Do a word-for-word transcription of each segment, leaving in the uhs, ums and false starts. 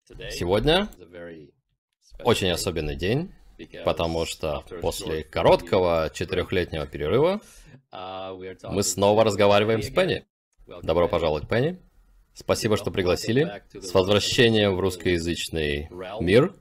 Сегодня очень особенный день, потому что после короткого четырехлетнего перерыва мы снова разговариваем с Пенни. Добро пожаловать, Пенни. Спасибо, что пригласили. С возвращением в русскоязычный мир.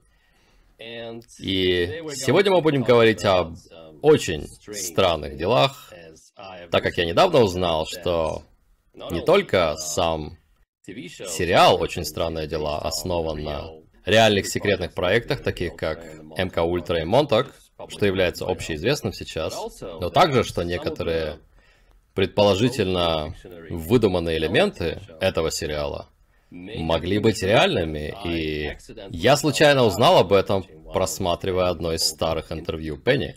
И сегодня мы будем говорить об очень странных делах, так как я недавно узнал, что не только сам сериал «Очень странные дела» основан на реальных секретных проектах, таких как эм ка Ультра и Монтак, что является общеизвестным сейчас, но также, что некоторые предположительно выдуманные элементы этого сериала могли быть реальными, и я случайно узнал об этом, просматривая одно из старых интервью Пенни.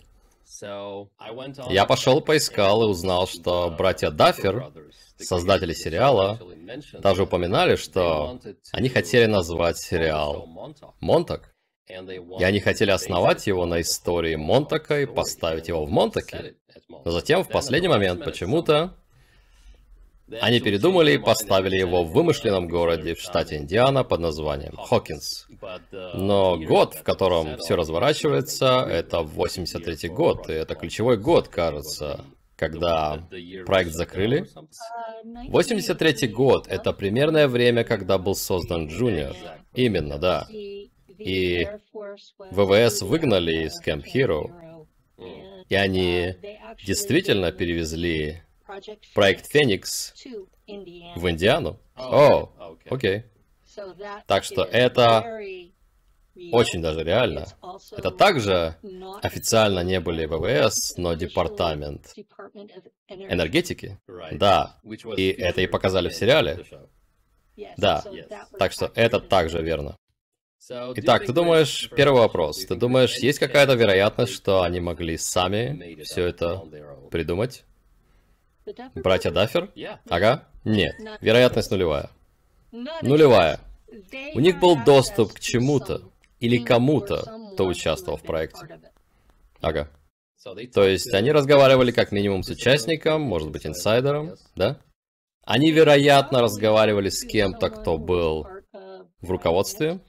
Я пошел поискал и узнал, что братья Даффер, создатели сериала, даже упоминали, что они хотели назвать сериал Монтак, и они хотели основать его на истории Монтака и поставить его в Монтаке. Но затем, в последний момент, почему-то, они передумали и поставили его в вымышленном городе в штате Индиана под названием Хокинс. Но год, в котором все разворачивается, это восемьдесят третий год, и это ключевой год, кажется, когда проект закрыли. восемьдесят третий год — это примерное время, когда был создан Джуниор. Именно, да. И вэ вэ эс выгнали из Camp Hero, и они действительно перевезли проект Феникс в Индиану. О, окей. Так что это очень даже реально. Это также официально не были вэ вэ эс, но департамент энергетики. Да, и это и показали в сериале. Да, так что это также верно. Итак, ты думаешь, первый вопрос, ты думаешь, есть какая-то вероятность, что они могли сами все это придумать? Братья Даффер? Ага. Нет. Вероятность нулевая. Нулевая. У них был доступ к чему-то или кому-то, кто участвовал в проекте. Ага. То есть они разговаривали как минимум с участником, может быть, инсайдером, да? Они, вероятно, разговаривали с кем-то, кто был в руководстве.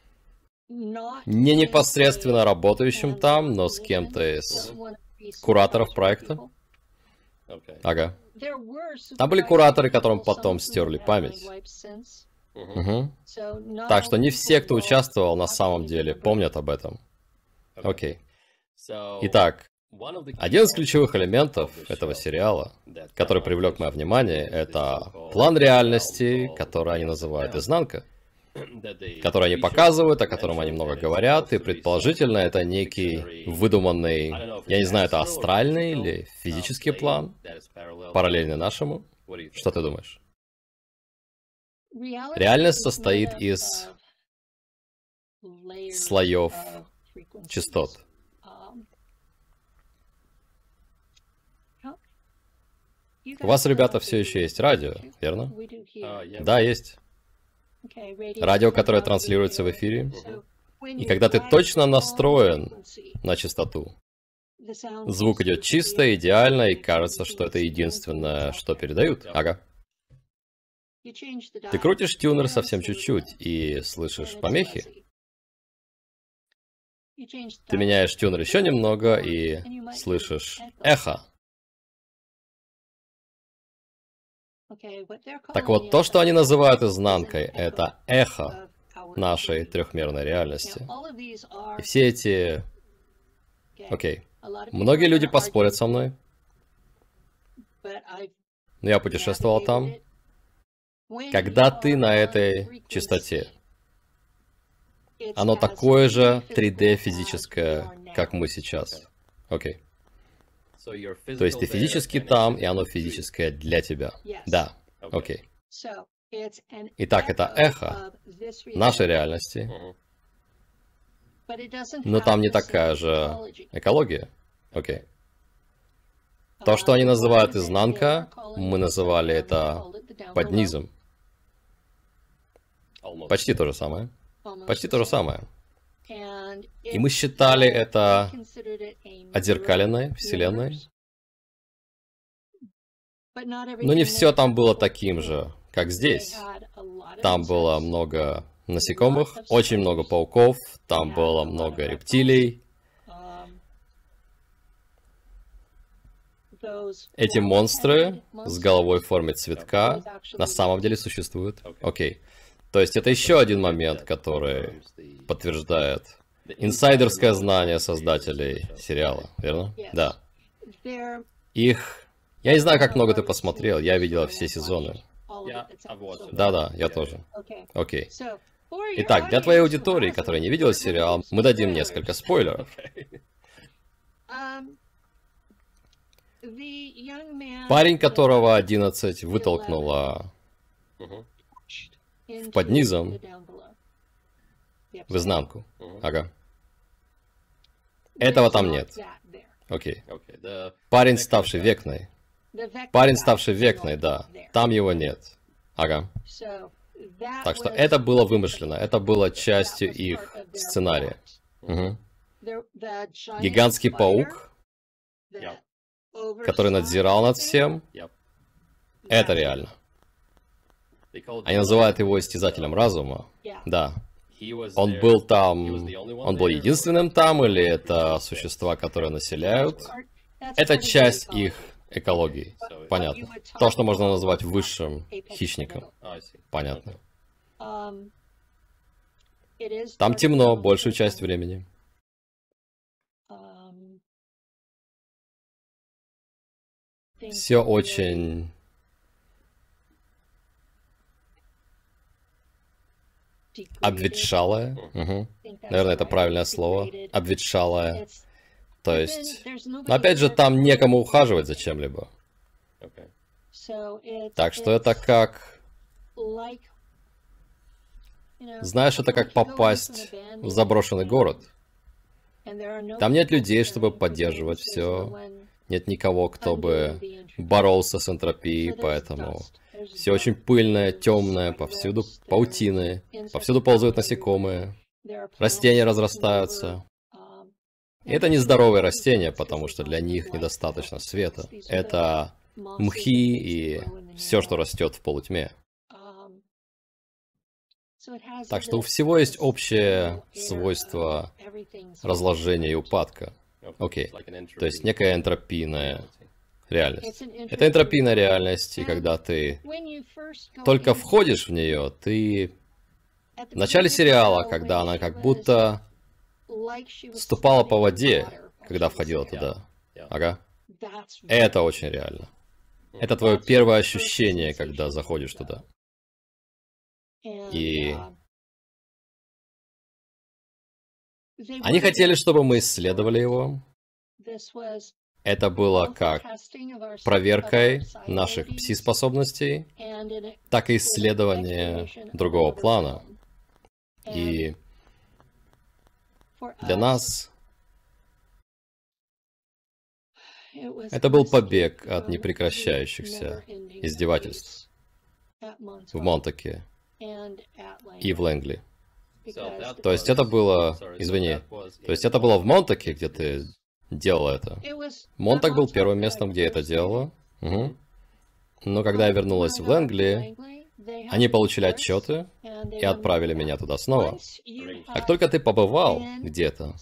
Не непосредственно работающим там, но с кем-то из кураторов проекта. Ага. Там были кураторы, которым потом стерли память. Угу. Так что не все, кто участвовал, на самом деле помнят об этом. Окей. Итак, один из ключевых элементов этого сериала, который привлек мое внимание, это план реальности, который они называют «Изнанка», который они показывают, о котором они много говорят, и предположительно это некий выдуманный, я не знаю, это астральный или физический план, параллельный нашему. Что ты думаешь? Реальность состоит из слоев частот. У вас, ребята, все еще есть радио, верно? Да, есть. Радио, которое транслируется в эфире. И когда ты точно настроен на частоту, звук идет чисто, идеально, и кажется, что это единственное, что передают. Ага. Ты крутишь тюнер совсем чуть-чуть и слышишь помехи. Ты меняешь тюнер еще немного и слышишь эхо. Так вот, то, что они называют изнанкой, это эхо нашей трехмерной реальности. И все эти... Окей. Многие люди поспорят со мной. Но я путешествовал там. Когда ты на этой частоте, оно такое же три дэ физическое, как мы сейчас. Окей. То есть ты физически там, и оно физическое для тебя. Да, окей. Итак, это эхо нашей реальности, но там не такая же экология. Окей. То, что они называют изнанка, мы называли это под низом. Почти то же самое. Почти то же самое. И мы считали это отзеркаленной вселенной. Но не все там было таким же, как здесь. Там было много насекомых, очень много пауков, там было много рептилий. Эти монстры с головой в форме цветка на самом деле существуют. Окей. То есть это еще один момент, который подтверждает инсайдерское знание создателей сериала, верно? Да. Их... Я не знаю, как много ты посмотрел, я видела все сезоны. Да-да, я тоже. Окей. Итак, для твоей аудитории, которая не видела сериал, мы дадим несколько спойлеров. Парень, которого одиннадцать вытолкнула под низом в изнанку. Ага. Этого там нет. Окей. Парень, ставший Векной. Парень, ставший Векной, да. Там его нет. Ага. Так что это было вымышленно. Это было частью их сценария. Угу. Гигантский паук, который надзирал над всем, это реально. Они называют его истязателем разума. Да. Он был там... Он был единственным там, или это существа, которые населяют? Это часть их экологии. Понятно. То, что можно назвать высшим хищником. Понятно. Там темно большую часть времени. Все очень... обветшалое. Угу. Наверное, это правильное слово. Обветшалое. То есть... Но опять же, там некому ухаживать за чем-либо. Так что это как... Знаешь, это как попасть в заброшенный город. Там нет людей, чтобы поддерживать все. Нет никого, кто бы боролся с энтропией, поэтому все очень пыльное, темное, повсюду паутины, повсюду ползают насекомые, растения разрастаются. И это нездоровые растения, потому что для них недостаточно света. Это мхи и все, что растет в полутьме. Так что у всего есть общее свойство разложения и упадка. Окей. То есть некая энтропийная реальность. Это энтропийная реальность, и когда ты только входишь в нее, ты... В начале сериала, когда она как будто ступала по воде, когда входила туда. Ага. Это очень реально. Это твое первое ощущение, когда заходишь туда. И... Они хотели, чтобы мы исследовали его. Это было как проверкой наших пси-способностей, так и исследование другого плана. И для нас это был побег от непрекращающихся издевательств в Монтаке и в Лэнгли. То есть это было... Извини. То есть это было в Монтаке, где ты делала это. Монтак был первым местом, где я это делала. Угу. Но когда я вернулась в Лэнгли, они получили отчеты и отправили меня туда снова. Как только ты побывал где-то,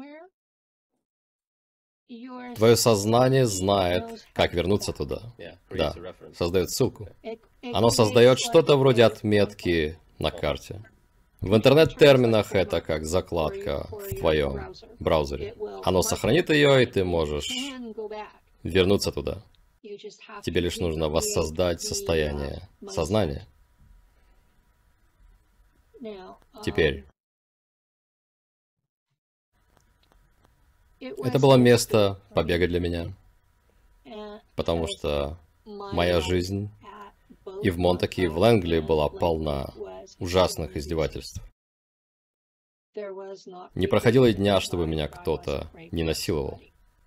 твое сознание знает, как вернуться туда. Да, создает ссылку. Оно создает что-то вроде отметки на карте. В интернет-терминах это как закладка в твоем браузере. Оно сохранит ее, и ты можешь вернуться туда. Тебе лишь нужно воссоздать состояние сознания. Теперь. Это было место побега для меня, потому что моя жизнь и в Монтаке, и в Лэнгли была полна ужасных издевательств. Не проходило и дня, чтобы меня кто-то не насиловал.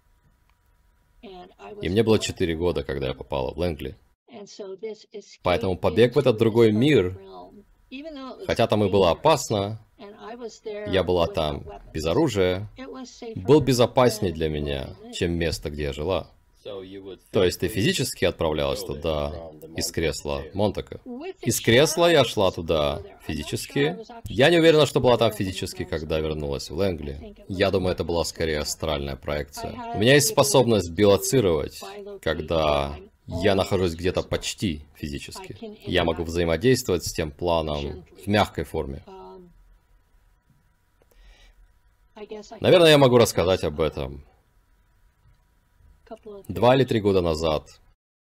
И мне было четыре года, когда я попала в Лэнгли. Поэтому побег в этот другой мир, хотя там и было опасно, я была там без оружия, был безопаснее для меня, чем место, где я жила. То есть ты физически отправлялась туда из кресла Монтака? Из кресла я шла туда физически. Я не уверена, что была там физически, когда вернулась в Лэнгли. Я думаю, это была скорее астральная проекция. У меня есть способность билоцировать, когда я нахожусь где-то почти физически. Я могу взаимодействовать с тем планом в мягкой форме. Наверное, я могу рассказать об этом. Два или три года назад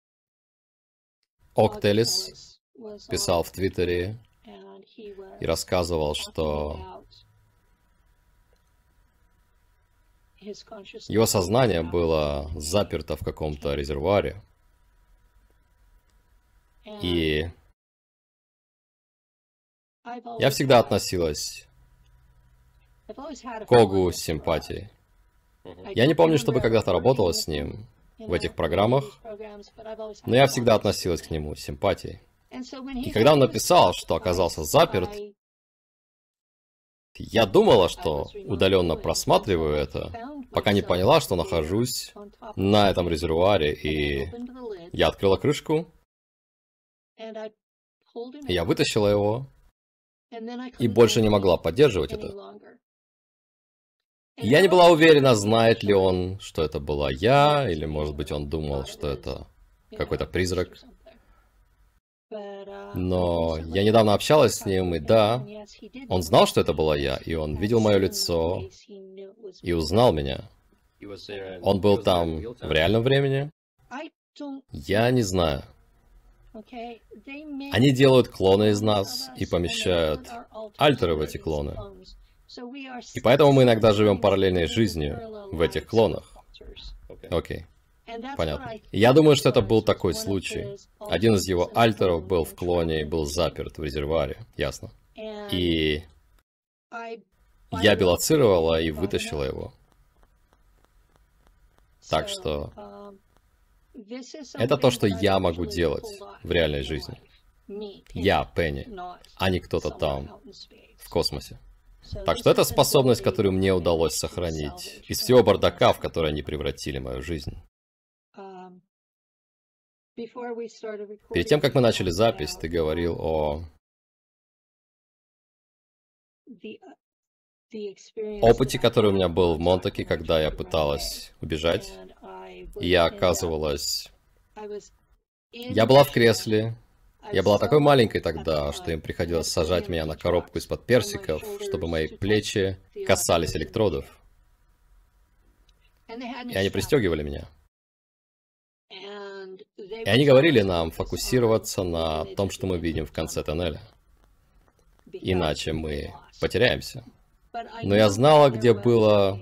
Октелис писал в Твиттере и рассказывал, что его сознание было заперто в каком-то резервуаре. И я всегда относилась к Огу с симпатией. Я не помню, чтобы когда-то работала с ним в этих программах, но я всегда относилась к нему с симпатией. И когда он написал, что оказался заперт, я думала, что удаленно просматриваю это, пока не поняла, что нахожусь на этом резервуаре, и я открыла крышку, я вытащила его, и больше не могла поддерживать это. Я не была уверена, знает ли он, что это была я, или, может быть, он думал, что это какой-то призрак. Но я недавно общалась с ним, и да, он знал, что это была я, и он видел мое лицо и узнал меня. Он был там в реальном времени? Я не знаю. Они делают клоны из нас и помещают альтеры в эти клоны. И поэтому мы иногда живем параллельной жизнью в этих клонах. Окей. Понятно. Я думаю, что это был такой случай. Один из его альтеров был в клоне и был заперт в резервуаре. Ясно. И я билоцировала и вытащила его. Так что это то, что я могу делать в реальной жизни. Я, Пенни, а не кто-то там в космосе. Так что это способность, которую мне удалось сохранить из всего бардака, в который они превратили мою жизнь. Перед тем, как мы начали запись, ты говорил о опыте, который у меня был в Монтаке, когда я пыталась убежать. И я оказывалась... Я была в кресле. Я была такой маленькой тогда, что им приходилось сажать меня на коробку из-под персиков, чтобы мои плечи касались электродов. И они пристегивали меня. И они говорили нам фокусироваться на том, что мы видим в конце тоннеля. Иначе мы потеряемся. Но я знала, где было...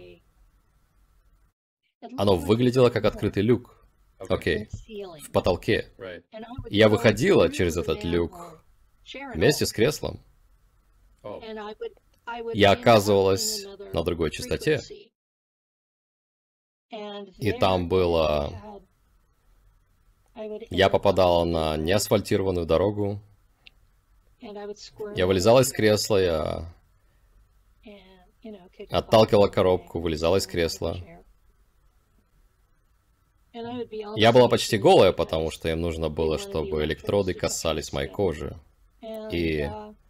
Оно выглядело как открытый люк. Окей. В потолке. И я выходила через этот люк вместе с креслом. Я оказывалась на другой частоте. И там было... Я попадала на неасфальтированную дорогу. Я вылезала из кресла, я отталкивала коробку, вылезала из кресла. Я была почти голая, потому что им нужно было, чтобы электроды касались моей кожи. И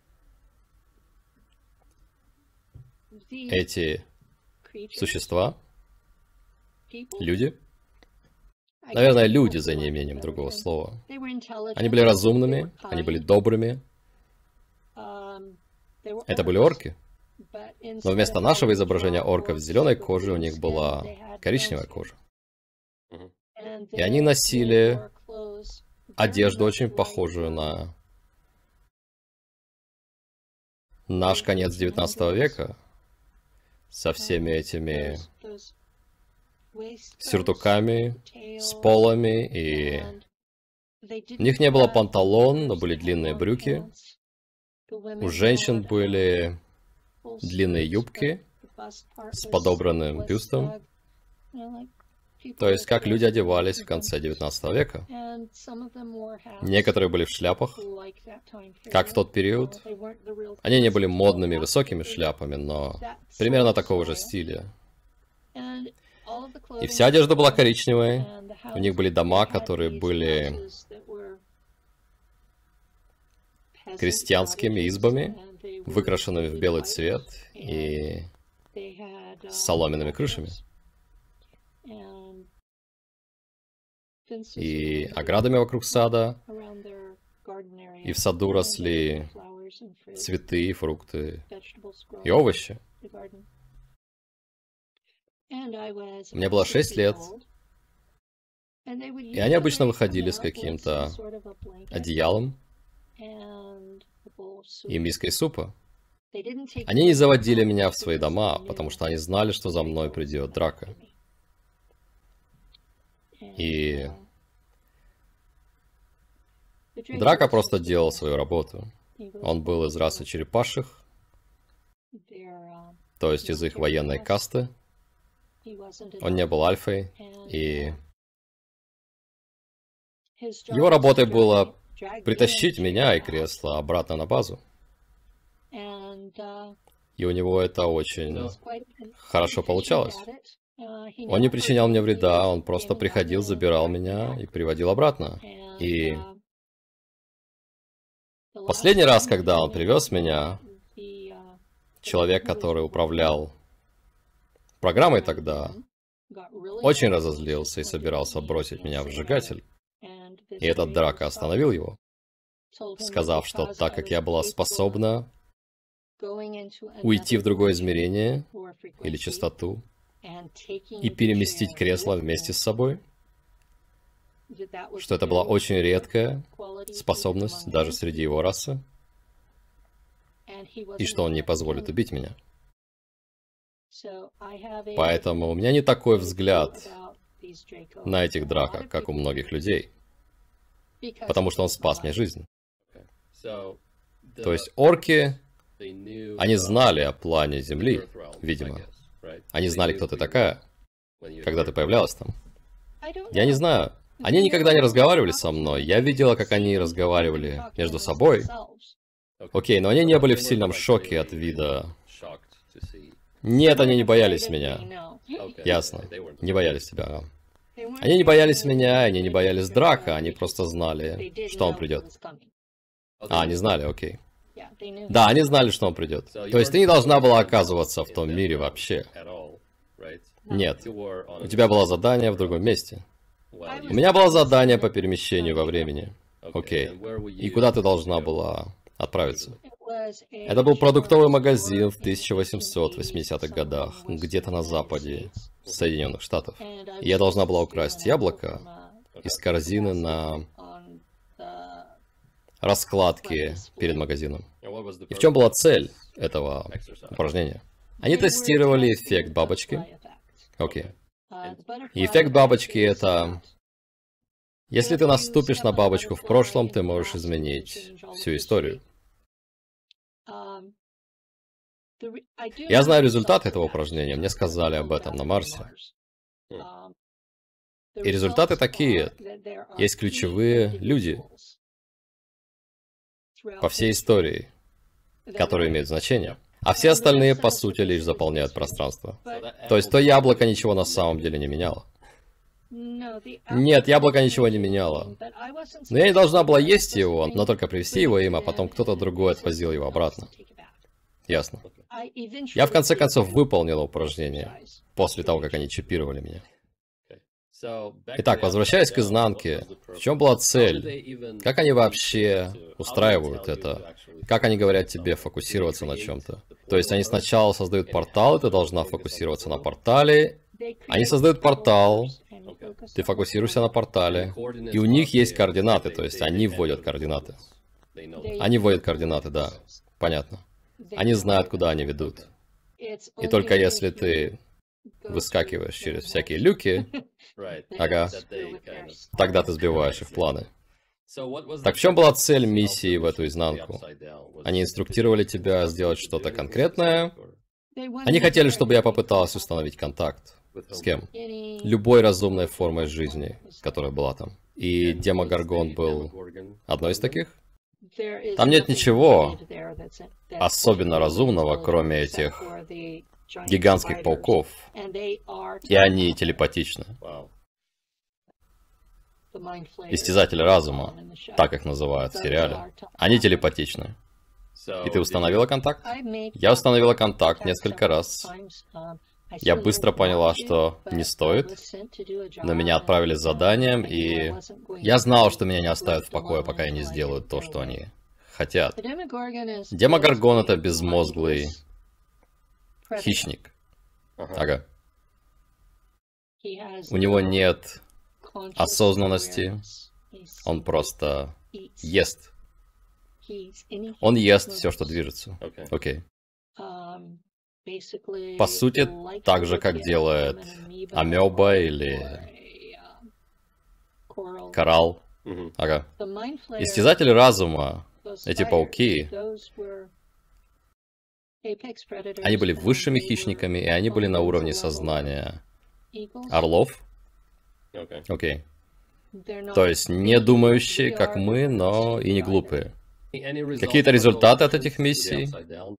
эти существа, люди, наверное, люди за неимением другого слова, они были разумными, они были добрыми. Это были орки. Но вместо нашего изображения орков с зеленой кожей у них была коричневая кожа. И они носили одежду, очень похожую на наш конец девятнадцатого века, со всеми этими сюртуками, с полами, и у них не было панталон, но были длинные брюки. У женщин были длинные юбки с подобранным бюстом. То есть, как люди одевались в конце девятнадцатого века. Некоторые были в шляпах, как в тот период. Они не были модными высокими шляпами, но примерно такого же стиля. И вся одежда была коричневой. У них были дома, которые были крестьянскими избами, выкрашенными в белый цвет и с соломенными крышами. И оградами вокруг сада. И в саду росли цветы, фрукты и овощи. Мне было шесть лет. И они обычно выходили с каким-то одеялом и миской супа. Они не заводили меня в свои дома, потому что они знали, что за мной придет драка. И Драка просто делал свою работу. Он был из расы черепашек, то есть из их военной касты. Он не был альфой, и его работой было притащить меня и кресло обратно на базу. И у него это очень хорошо получалось. Он не причинял мне вреда, он просто приходил, забирал меня и приводил обратно. И последний раз, когда он привез меня, человек, который управлял программой тогда, очень разозлился и собирался бросить меня в сжигатель. И этот Драка остановил его, сказав, что так как я была способна уйти в другое измерение или частоту и переместить кресло вместе с собой, что это была очень редкая способность даже среди его расы, и что он не позволит убить меня. Поэтому у меня не такой взгляд на этих Драка, как у многих людей, потому что он спас мне жизнь. То есть орки, они знали о плане Земли, видимо. Они знали, кто ты такая, когда ты появлялась там. Я не знаю. Они никогда не разговаривали со мной. Я видела, как они разговаривали между собой. Окей, но они не были в сильном шоке от вида. Нет, они не боялись меня. Ясно. Не боялись тебя. Они не боялись меня, они не боялись Драка, они просто знали, что он придет. А, они знали, окей. Да, они знали, что он придет. То есть ты не должна была оказываться в том мире вообще. Нет. У тебя было задание в другом месте. У меня было задание по перемещению во времени. Окей. И куда ты должна была отправиться? Это был продуктовый магазин в тысяча восемьсот восьмидесятых годах, где-то на западе Соединенных Штатов. И я должна была украсть яблоко из корзины на раскладке перед магазином. И в чем была цель этого упражнения? Они тестировали эффект бабочки. Окей. И эффект бабочки — это... Если ты наступишь на бабочку в прошлом, ты можешь изменить всю историю. Я знаю результат этого упражнения, мне сказали об этом на Марсе. И результаты такие. Есть ключевые люди по всей истории, которые имеют значение. А все остальные, по сути, лишь заполняют пространство. То есть то яблоко ничего на самом деле не меняло. Нет, яблоко ничего не меняло. Но я не должна была есть его, но только привезти его им, а потом кто-то другой отвозил его обратно. Ясно. Я в конце концов выполнила упражнение, после того, как они чипировали меня. Итак, возвращаясь к изнанке, в чем была цель? Как они вообще устраивают это? Как они говорят тебе фокусироваться на чем-то? То есть они сначала создают портал, и ты должна фокусироваться на портале. Они создают портал, ты фокусируешься на портале, и у них есть координаты, то есть они вводят координаты. Они вводят координаты, да, понятно. Они знают, куда они ведут. И только если ты выскакиваешь через всякие люки, ага, тогда ты сбиваешь их планы. Так в чем была цель миссии в эту изнанку? Они инструктировали тебя сделать что-то конкретное? Они хотели, чтобы я попыталась установить контакт. С кем? Любой разумной формой жизни, которая была там. И Демогоргон был одной из таких? Там нет ничего особенно разумного, кроме этих гигантских пауков, и они телепатичны. Истязатели разума, так их называют в сериале, они телепатичны. И ты установила контакт? Я установила контакт несколько раз. Я быстро поняла, что не стоит, но меня отправили с заданием, и я знал, что меня не оставят в покое, пока я не сделаю то, что они хотят. Демогоргон — это безмозглый хищник. Ага. У него нет осознанности, он просто ест. Он ест все, что движется. Окей. По сути, так же, как делает амеба или коралл. Ага. Истязатели разума, эти пауки, они были высшими хищниками, и они были на уровне сознания орлов. Окей. То есть не думающие, как мы, но и не глупые. Какие-то результаты от этих миссий?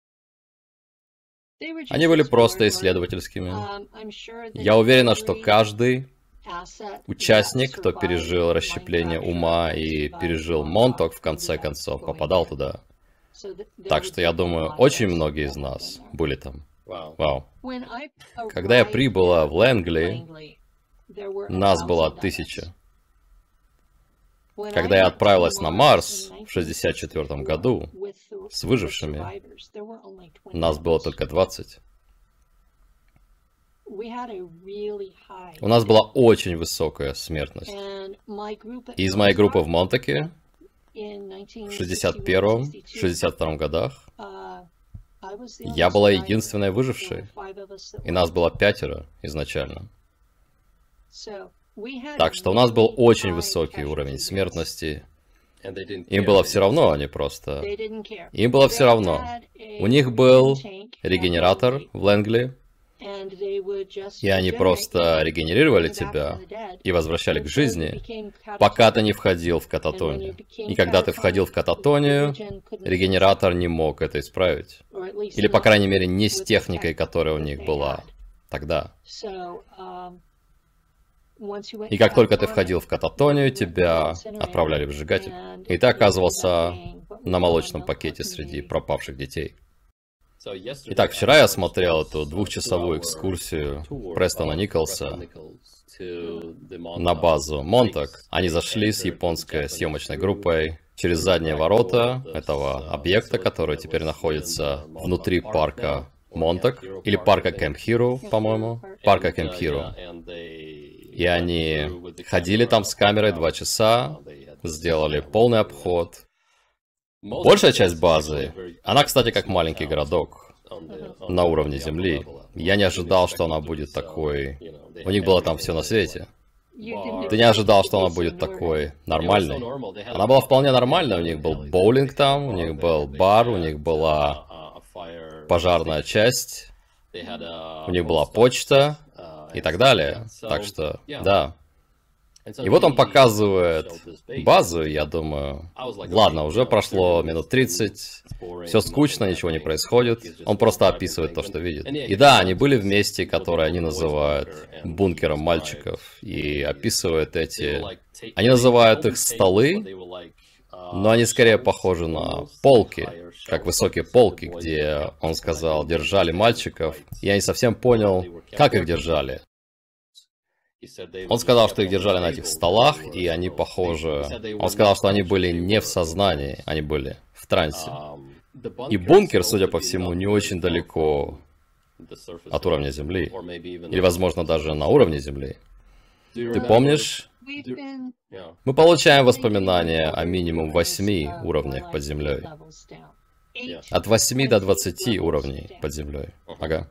Они были просто исследовательскими. Я уверена, что каждый участник, кто пережил расщепление ума и пережил Монток, в конце концов, попадал туда. Так что я думаю, очень многие из нас были там. Вау. Когда я прибыла в Лэнгли, нас было тысяча. Когда я отправилась на Марс в шестьдесят четвёртом году с выжившими, нас было только двадцать. У нас была очень высокая смертность. И из моей группы в Монтаке в шестьдесят первом — шестьдесят втором годах я была единственной выжившей. И нас было пятеро изначально. Так что у нас был очень высокий уровень смертности. Им было все равно, они просто... Им было все равно. У них был регенератор в Лэнгли, и они просто регенерировали тебя и возвращали к жизни, пока ты не входил в кататонию. И когда ты входил в кататонию, регенератор не мог это исправить. Или, по крайней мере, не с техникой, которая у них была тогда. И как только ты входил в кататонию, тебя отправляли в сжигатель. И ты оказывался на молочном пакете среди пропавших детей. Итак, вчера я смотрел эту двухчасовую экскурсию Престона Николса на базу Монтак. Они зашли с японской съемочной группой через задние ворота этого объекта, который теперь находится внутри парка Монтак, или парка Кэмп Хиро, по-моему. Парка Кэмп Хиро. И они ходили там с камерой два часа, сделали полный обход. Большая часть базы, она, кстати, как маленький городок на уровне земли. Я не ожидал, что она будет такой... У них было там все на свете. Ты не ожидал, что она будет такой нормальной. Она была вполне нормальной. У них был боулинг там, у них был бар, у них была пожарная часть, у них была почта и так далее. Так что, да. И вот он показывает базу, я думаю, ладно, уже прошло минут тридцать, все скучно, ничего не происходит, он просто описывает то, что видит. И да, они были в месте, которое они называют бункером мальчиков, и описывают эти... Они называют их столы, но они скорее похожи на полки, как высокие полки, где, он сказал, держали мальчиков. Я не совсем понял, как их держали. Он сказал, что их держали на этих столах, и они похожи... Он сказал, что они были не в сознании, они были в трансе. И бункер, судя по всему, не очень далеко от уровня Земли. Или, возможно, даже на уровне Земли. Ты помнишь? Мы получаем воспоминания о минимум восьми уровнях под землей. От восьми до двадцати уровней под землей. Ага.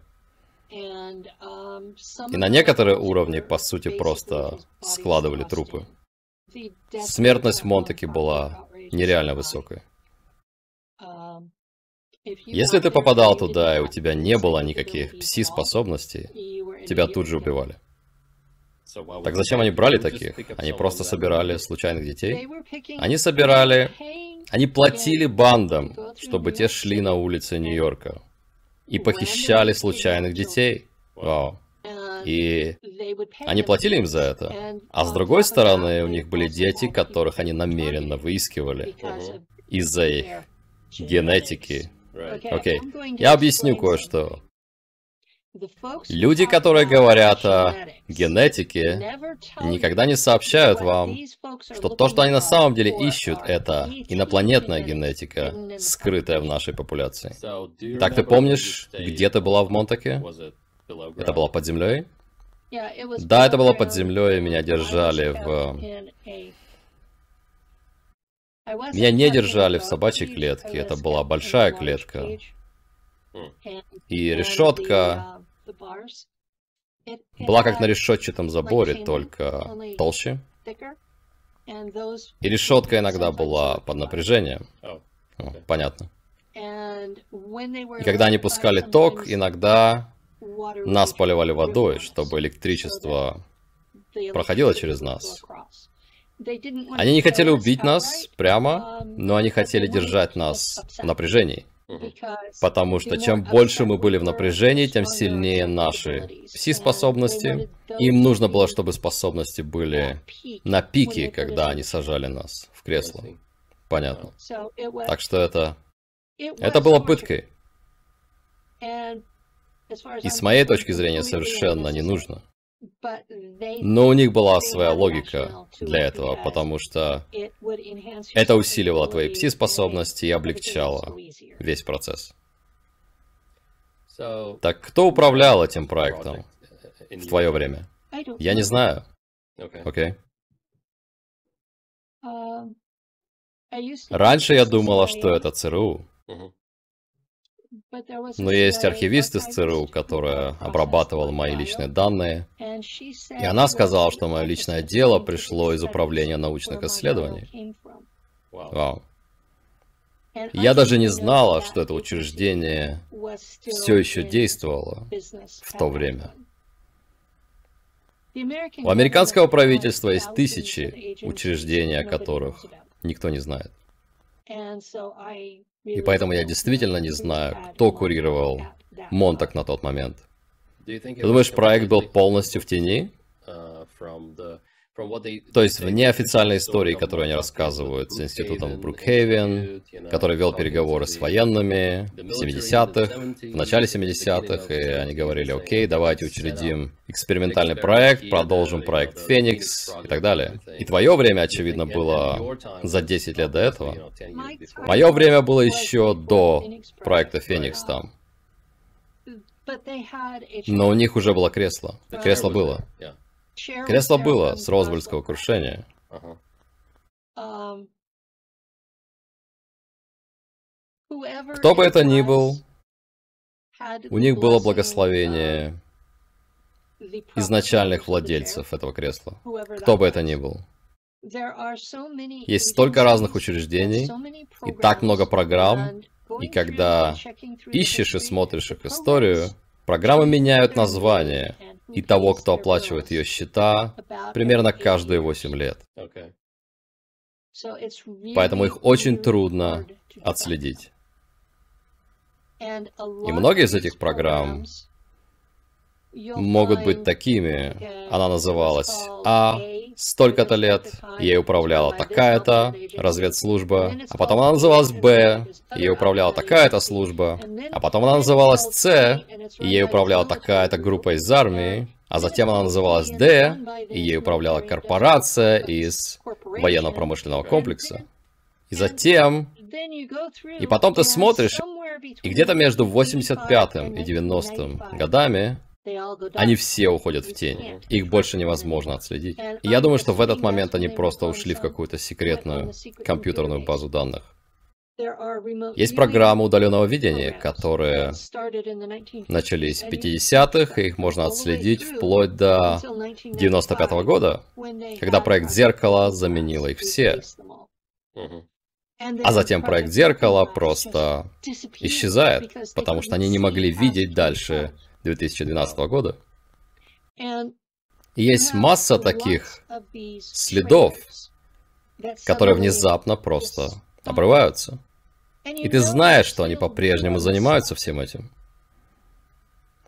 И на некоторые уровни, по сути, просто складывали трупы. Смертность в Монтаке была нереально высокой. Если ты попадал туда, и у тебя не было никаких пси-способностей, тебя тут же убивали. Так зачем они брали таких? Они просто собирали случайных детей? Они собирали... Они платили бандам, чтобы те шли на улицы Нью-Йорка. и похищали случайных детей. Вау. И они платили им за это. А с другой стороны, у них были дети, которых они намеренно выискивали из-за их генетики. Окей, okay. Я объясню кое-что. Люди, которые говорят о генетике, никогда не сообщают вам, что то, что они на самом деле ищут, это инопланетная генетика, скрытая в нашей популяции. Так, ты помнишь, где ты была в Монтаке? Это было под землей? Да, это было под землей, и меня держали в... Меня не держали в собачьей клетке, это была большая клетка. И решетка была как на решетчатом заборе, только толще. И решетка иногда была под напряжением. О, понятно. И когда они пускали ток, иногда нас поливали водой, чтобы электричество проходило через нас. Они не хотели убить нас прямо, но они хотели держать нас в напряжении. Потому что чем больше мы были в напряжении, тем сильнее наши пси-способности. Им нужно было, чтобы способности были на пике, когда они сажали нас в кресло. Понятно. Так что это... Это было пыткой. И с моей точки зрения совершенно не нужно. Но у них была своя логика для этого, потому что это усиливало твои пси-способности и облегчало весь процесс. Так кто управлял этим проектом в твое время? Я не знаю. Окей. Раньше я думала, что это ЦРУ. Но есть архивист из ЦРУ, которая обрабатывала мои личные данные, и она сказала, что мое личное дело пришло из управления научных исследований. Вау. Я даже не знала, что это учреждение все еще действовало в то время. У американского правительства есть тысячи учреждений, о которых никто не знает. И поэтому я действительно не знаю, кто курировал Монтак на тот момент. Ты думаешь, проект был полностью в тени? То есть в неофициальной истории, которую они рассказывают с институтом в Брукхейвен, который вел переговоры с военными в семидесятых, в начале семидесятых, и они говорили: окей, давайте учредим экспериментальный проект, продолжим проект Феникс и так далее. И твое время, очевидно, было за десять лет до этого. Мое время было еще до проекта Феникс там. Но у них уже было кресло. Кресло было. Кресло было с Розвельского крушения. Кто бы это ни был, у них было благословение изначальных владельцев этого кресла. Кто бы это ни был. Есть столько разных учреждений, и так много программ, и когда ищешь и смотришь их историю, программы меняют название и того, кто оплачивает ее счета, примерно каждые восемь лет. Поэтому их очень трудно отследить. И многие из этих программ могут быть такими. Она называлась А, столько-то лет, ей управляла такая-то разведслужба, а потом она называлась Б, ей управляла такая-то служба, а потом она называлась С, и ей управляла такая-то группа из армии, а затем она называлась Д, и ей управляла корпорация из военно-промышленного комплекса. И затем... И потом ты смотришь, и где-то между восемьдесят пятым и девяностым годами они все уходят в тень. Их больше невозможно отследить. И я думаю, что в этот момент они просто ушли в какую-то секретную компьютерную базу данных. Есть программы удаленного видения, которые начались в пятидесятых, и их можно отследить вплоть до девяносто пятого года, когда проект «Зеркало» заменил их все. А затем проект «Зеркало» просто исчезает, потому что они не могли видеть дальше две тысячи двенадцатого года. И есть масса таких следов, которые внезапно просто обрываются. И ты знаешь, что они по-прежнему занимаются всем этим.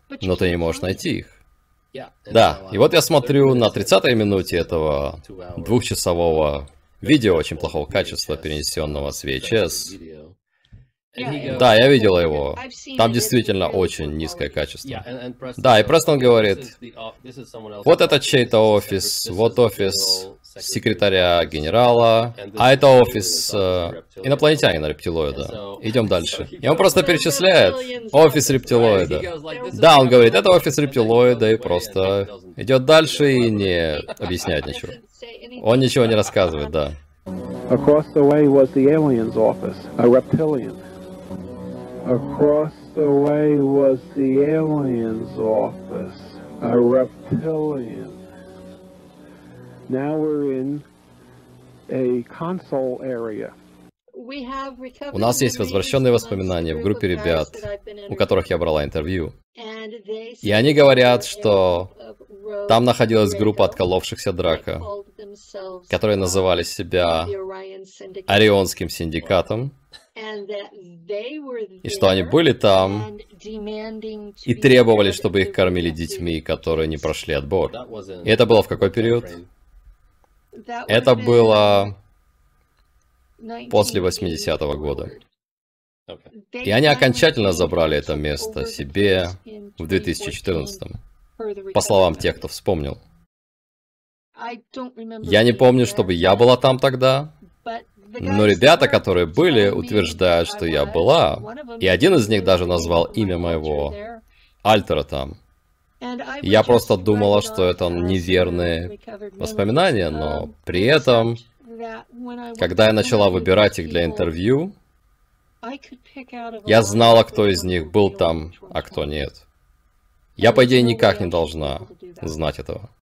но ты не можешь найти их. Да, и вот я смотрю на тридцатой минуте этого двухчасового видео очень плохого качества, перенесенного с ви эйч эс. Да, я видел его. Там действительно очень низкое качество. Да, и Престон говорит, вот это чей-то офис, вот офис секретаря генерала, а это офис э, инопланетянина рептилоида. Идем дальше. И он просто перечисляет офис рептилоида. Да, он говорит, это офис рептилоида, и просто идет дальше и не объясняет ничего. Он ничего не рассказывает, да. Across the way was the alien's office, a reptilian. Across the way was the alien's office, a reptilian. Now we're in a console area. У нас есть возвращенные воспоминания в группе ребят, у которых я брала интервью. И они говорят, что там находилась группа отколовшихся Драко, которые называли себя Орионским синдикатом, и что они были там и требовали, чтобы их кормили детьми, которые не прошли отбор. И это было в какой период? Это было после восьмидесятого года. И они окончательно забрали это место себе в две тысячи четырнадцатом, по словам тех, кто вспомнил. Я не помню, чтобы я была там тогда, но ребята, которые были, утверждают, что я была, и один из них даже назвал имя моего альтера там. И я просто думала, что это неверные воспоминания, но при этом, когда я начала выбирать их для интервью, я знала, кто из них был там, а кто нет. Я, по идее, никак не должна знать этого.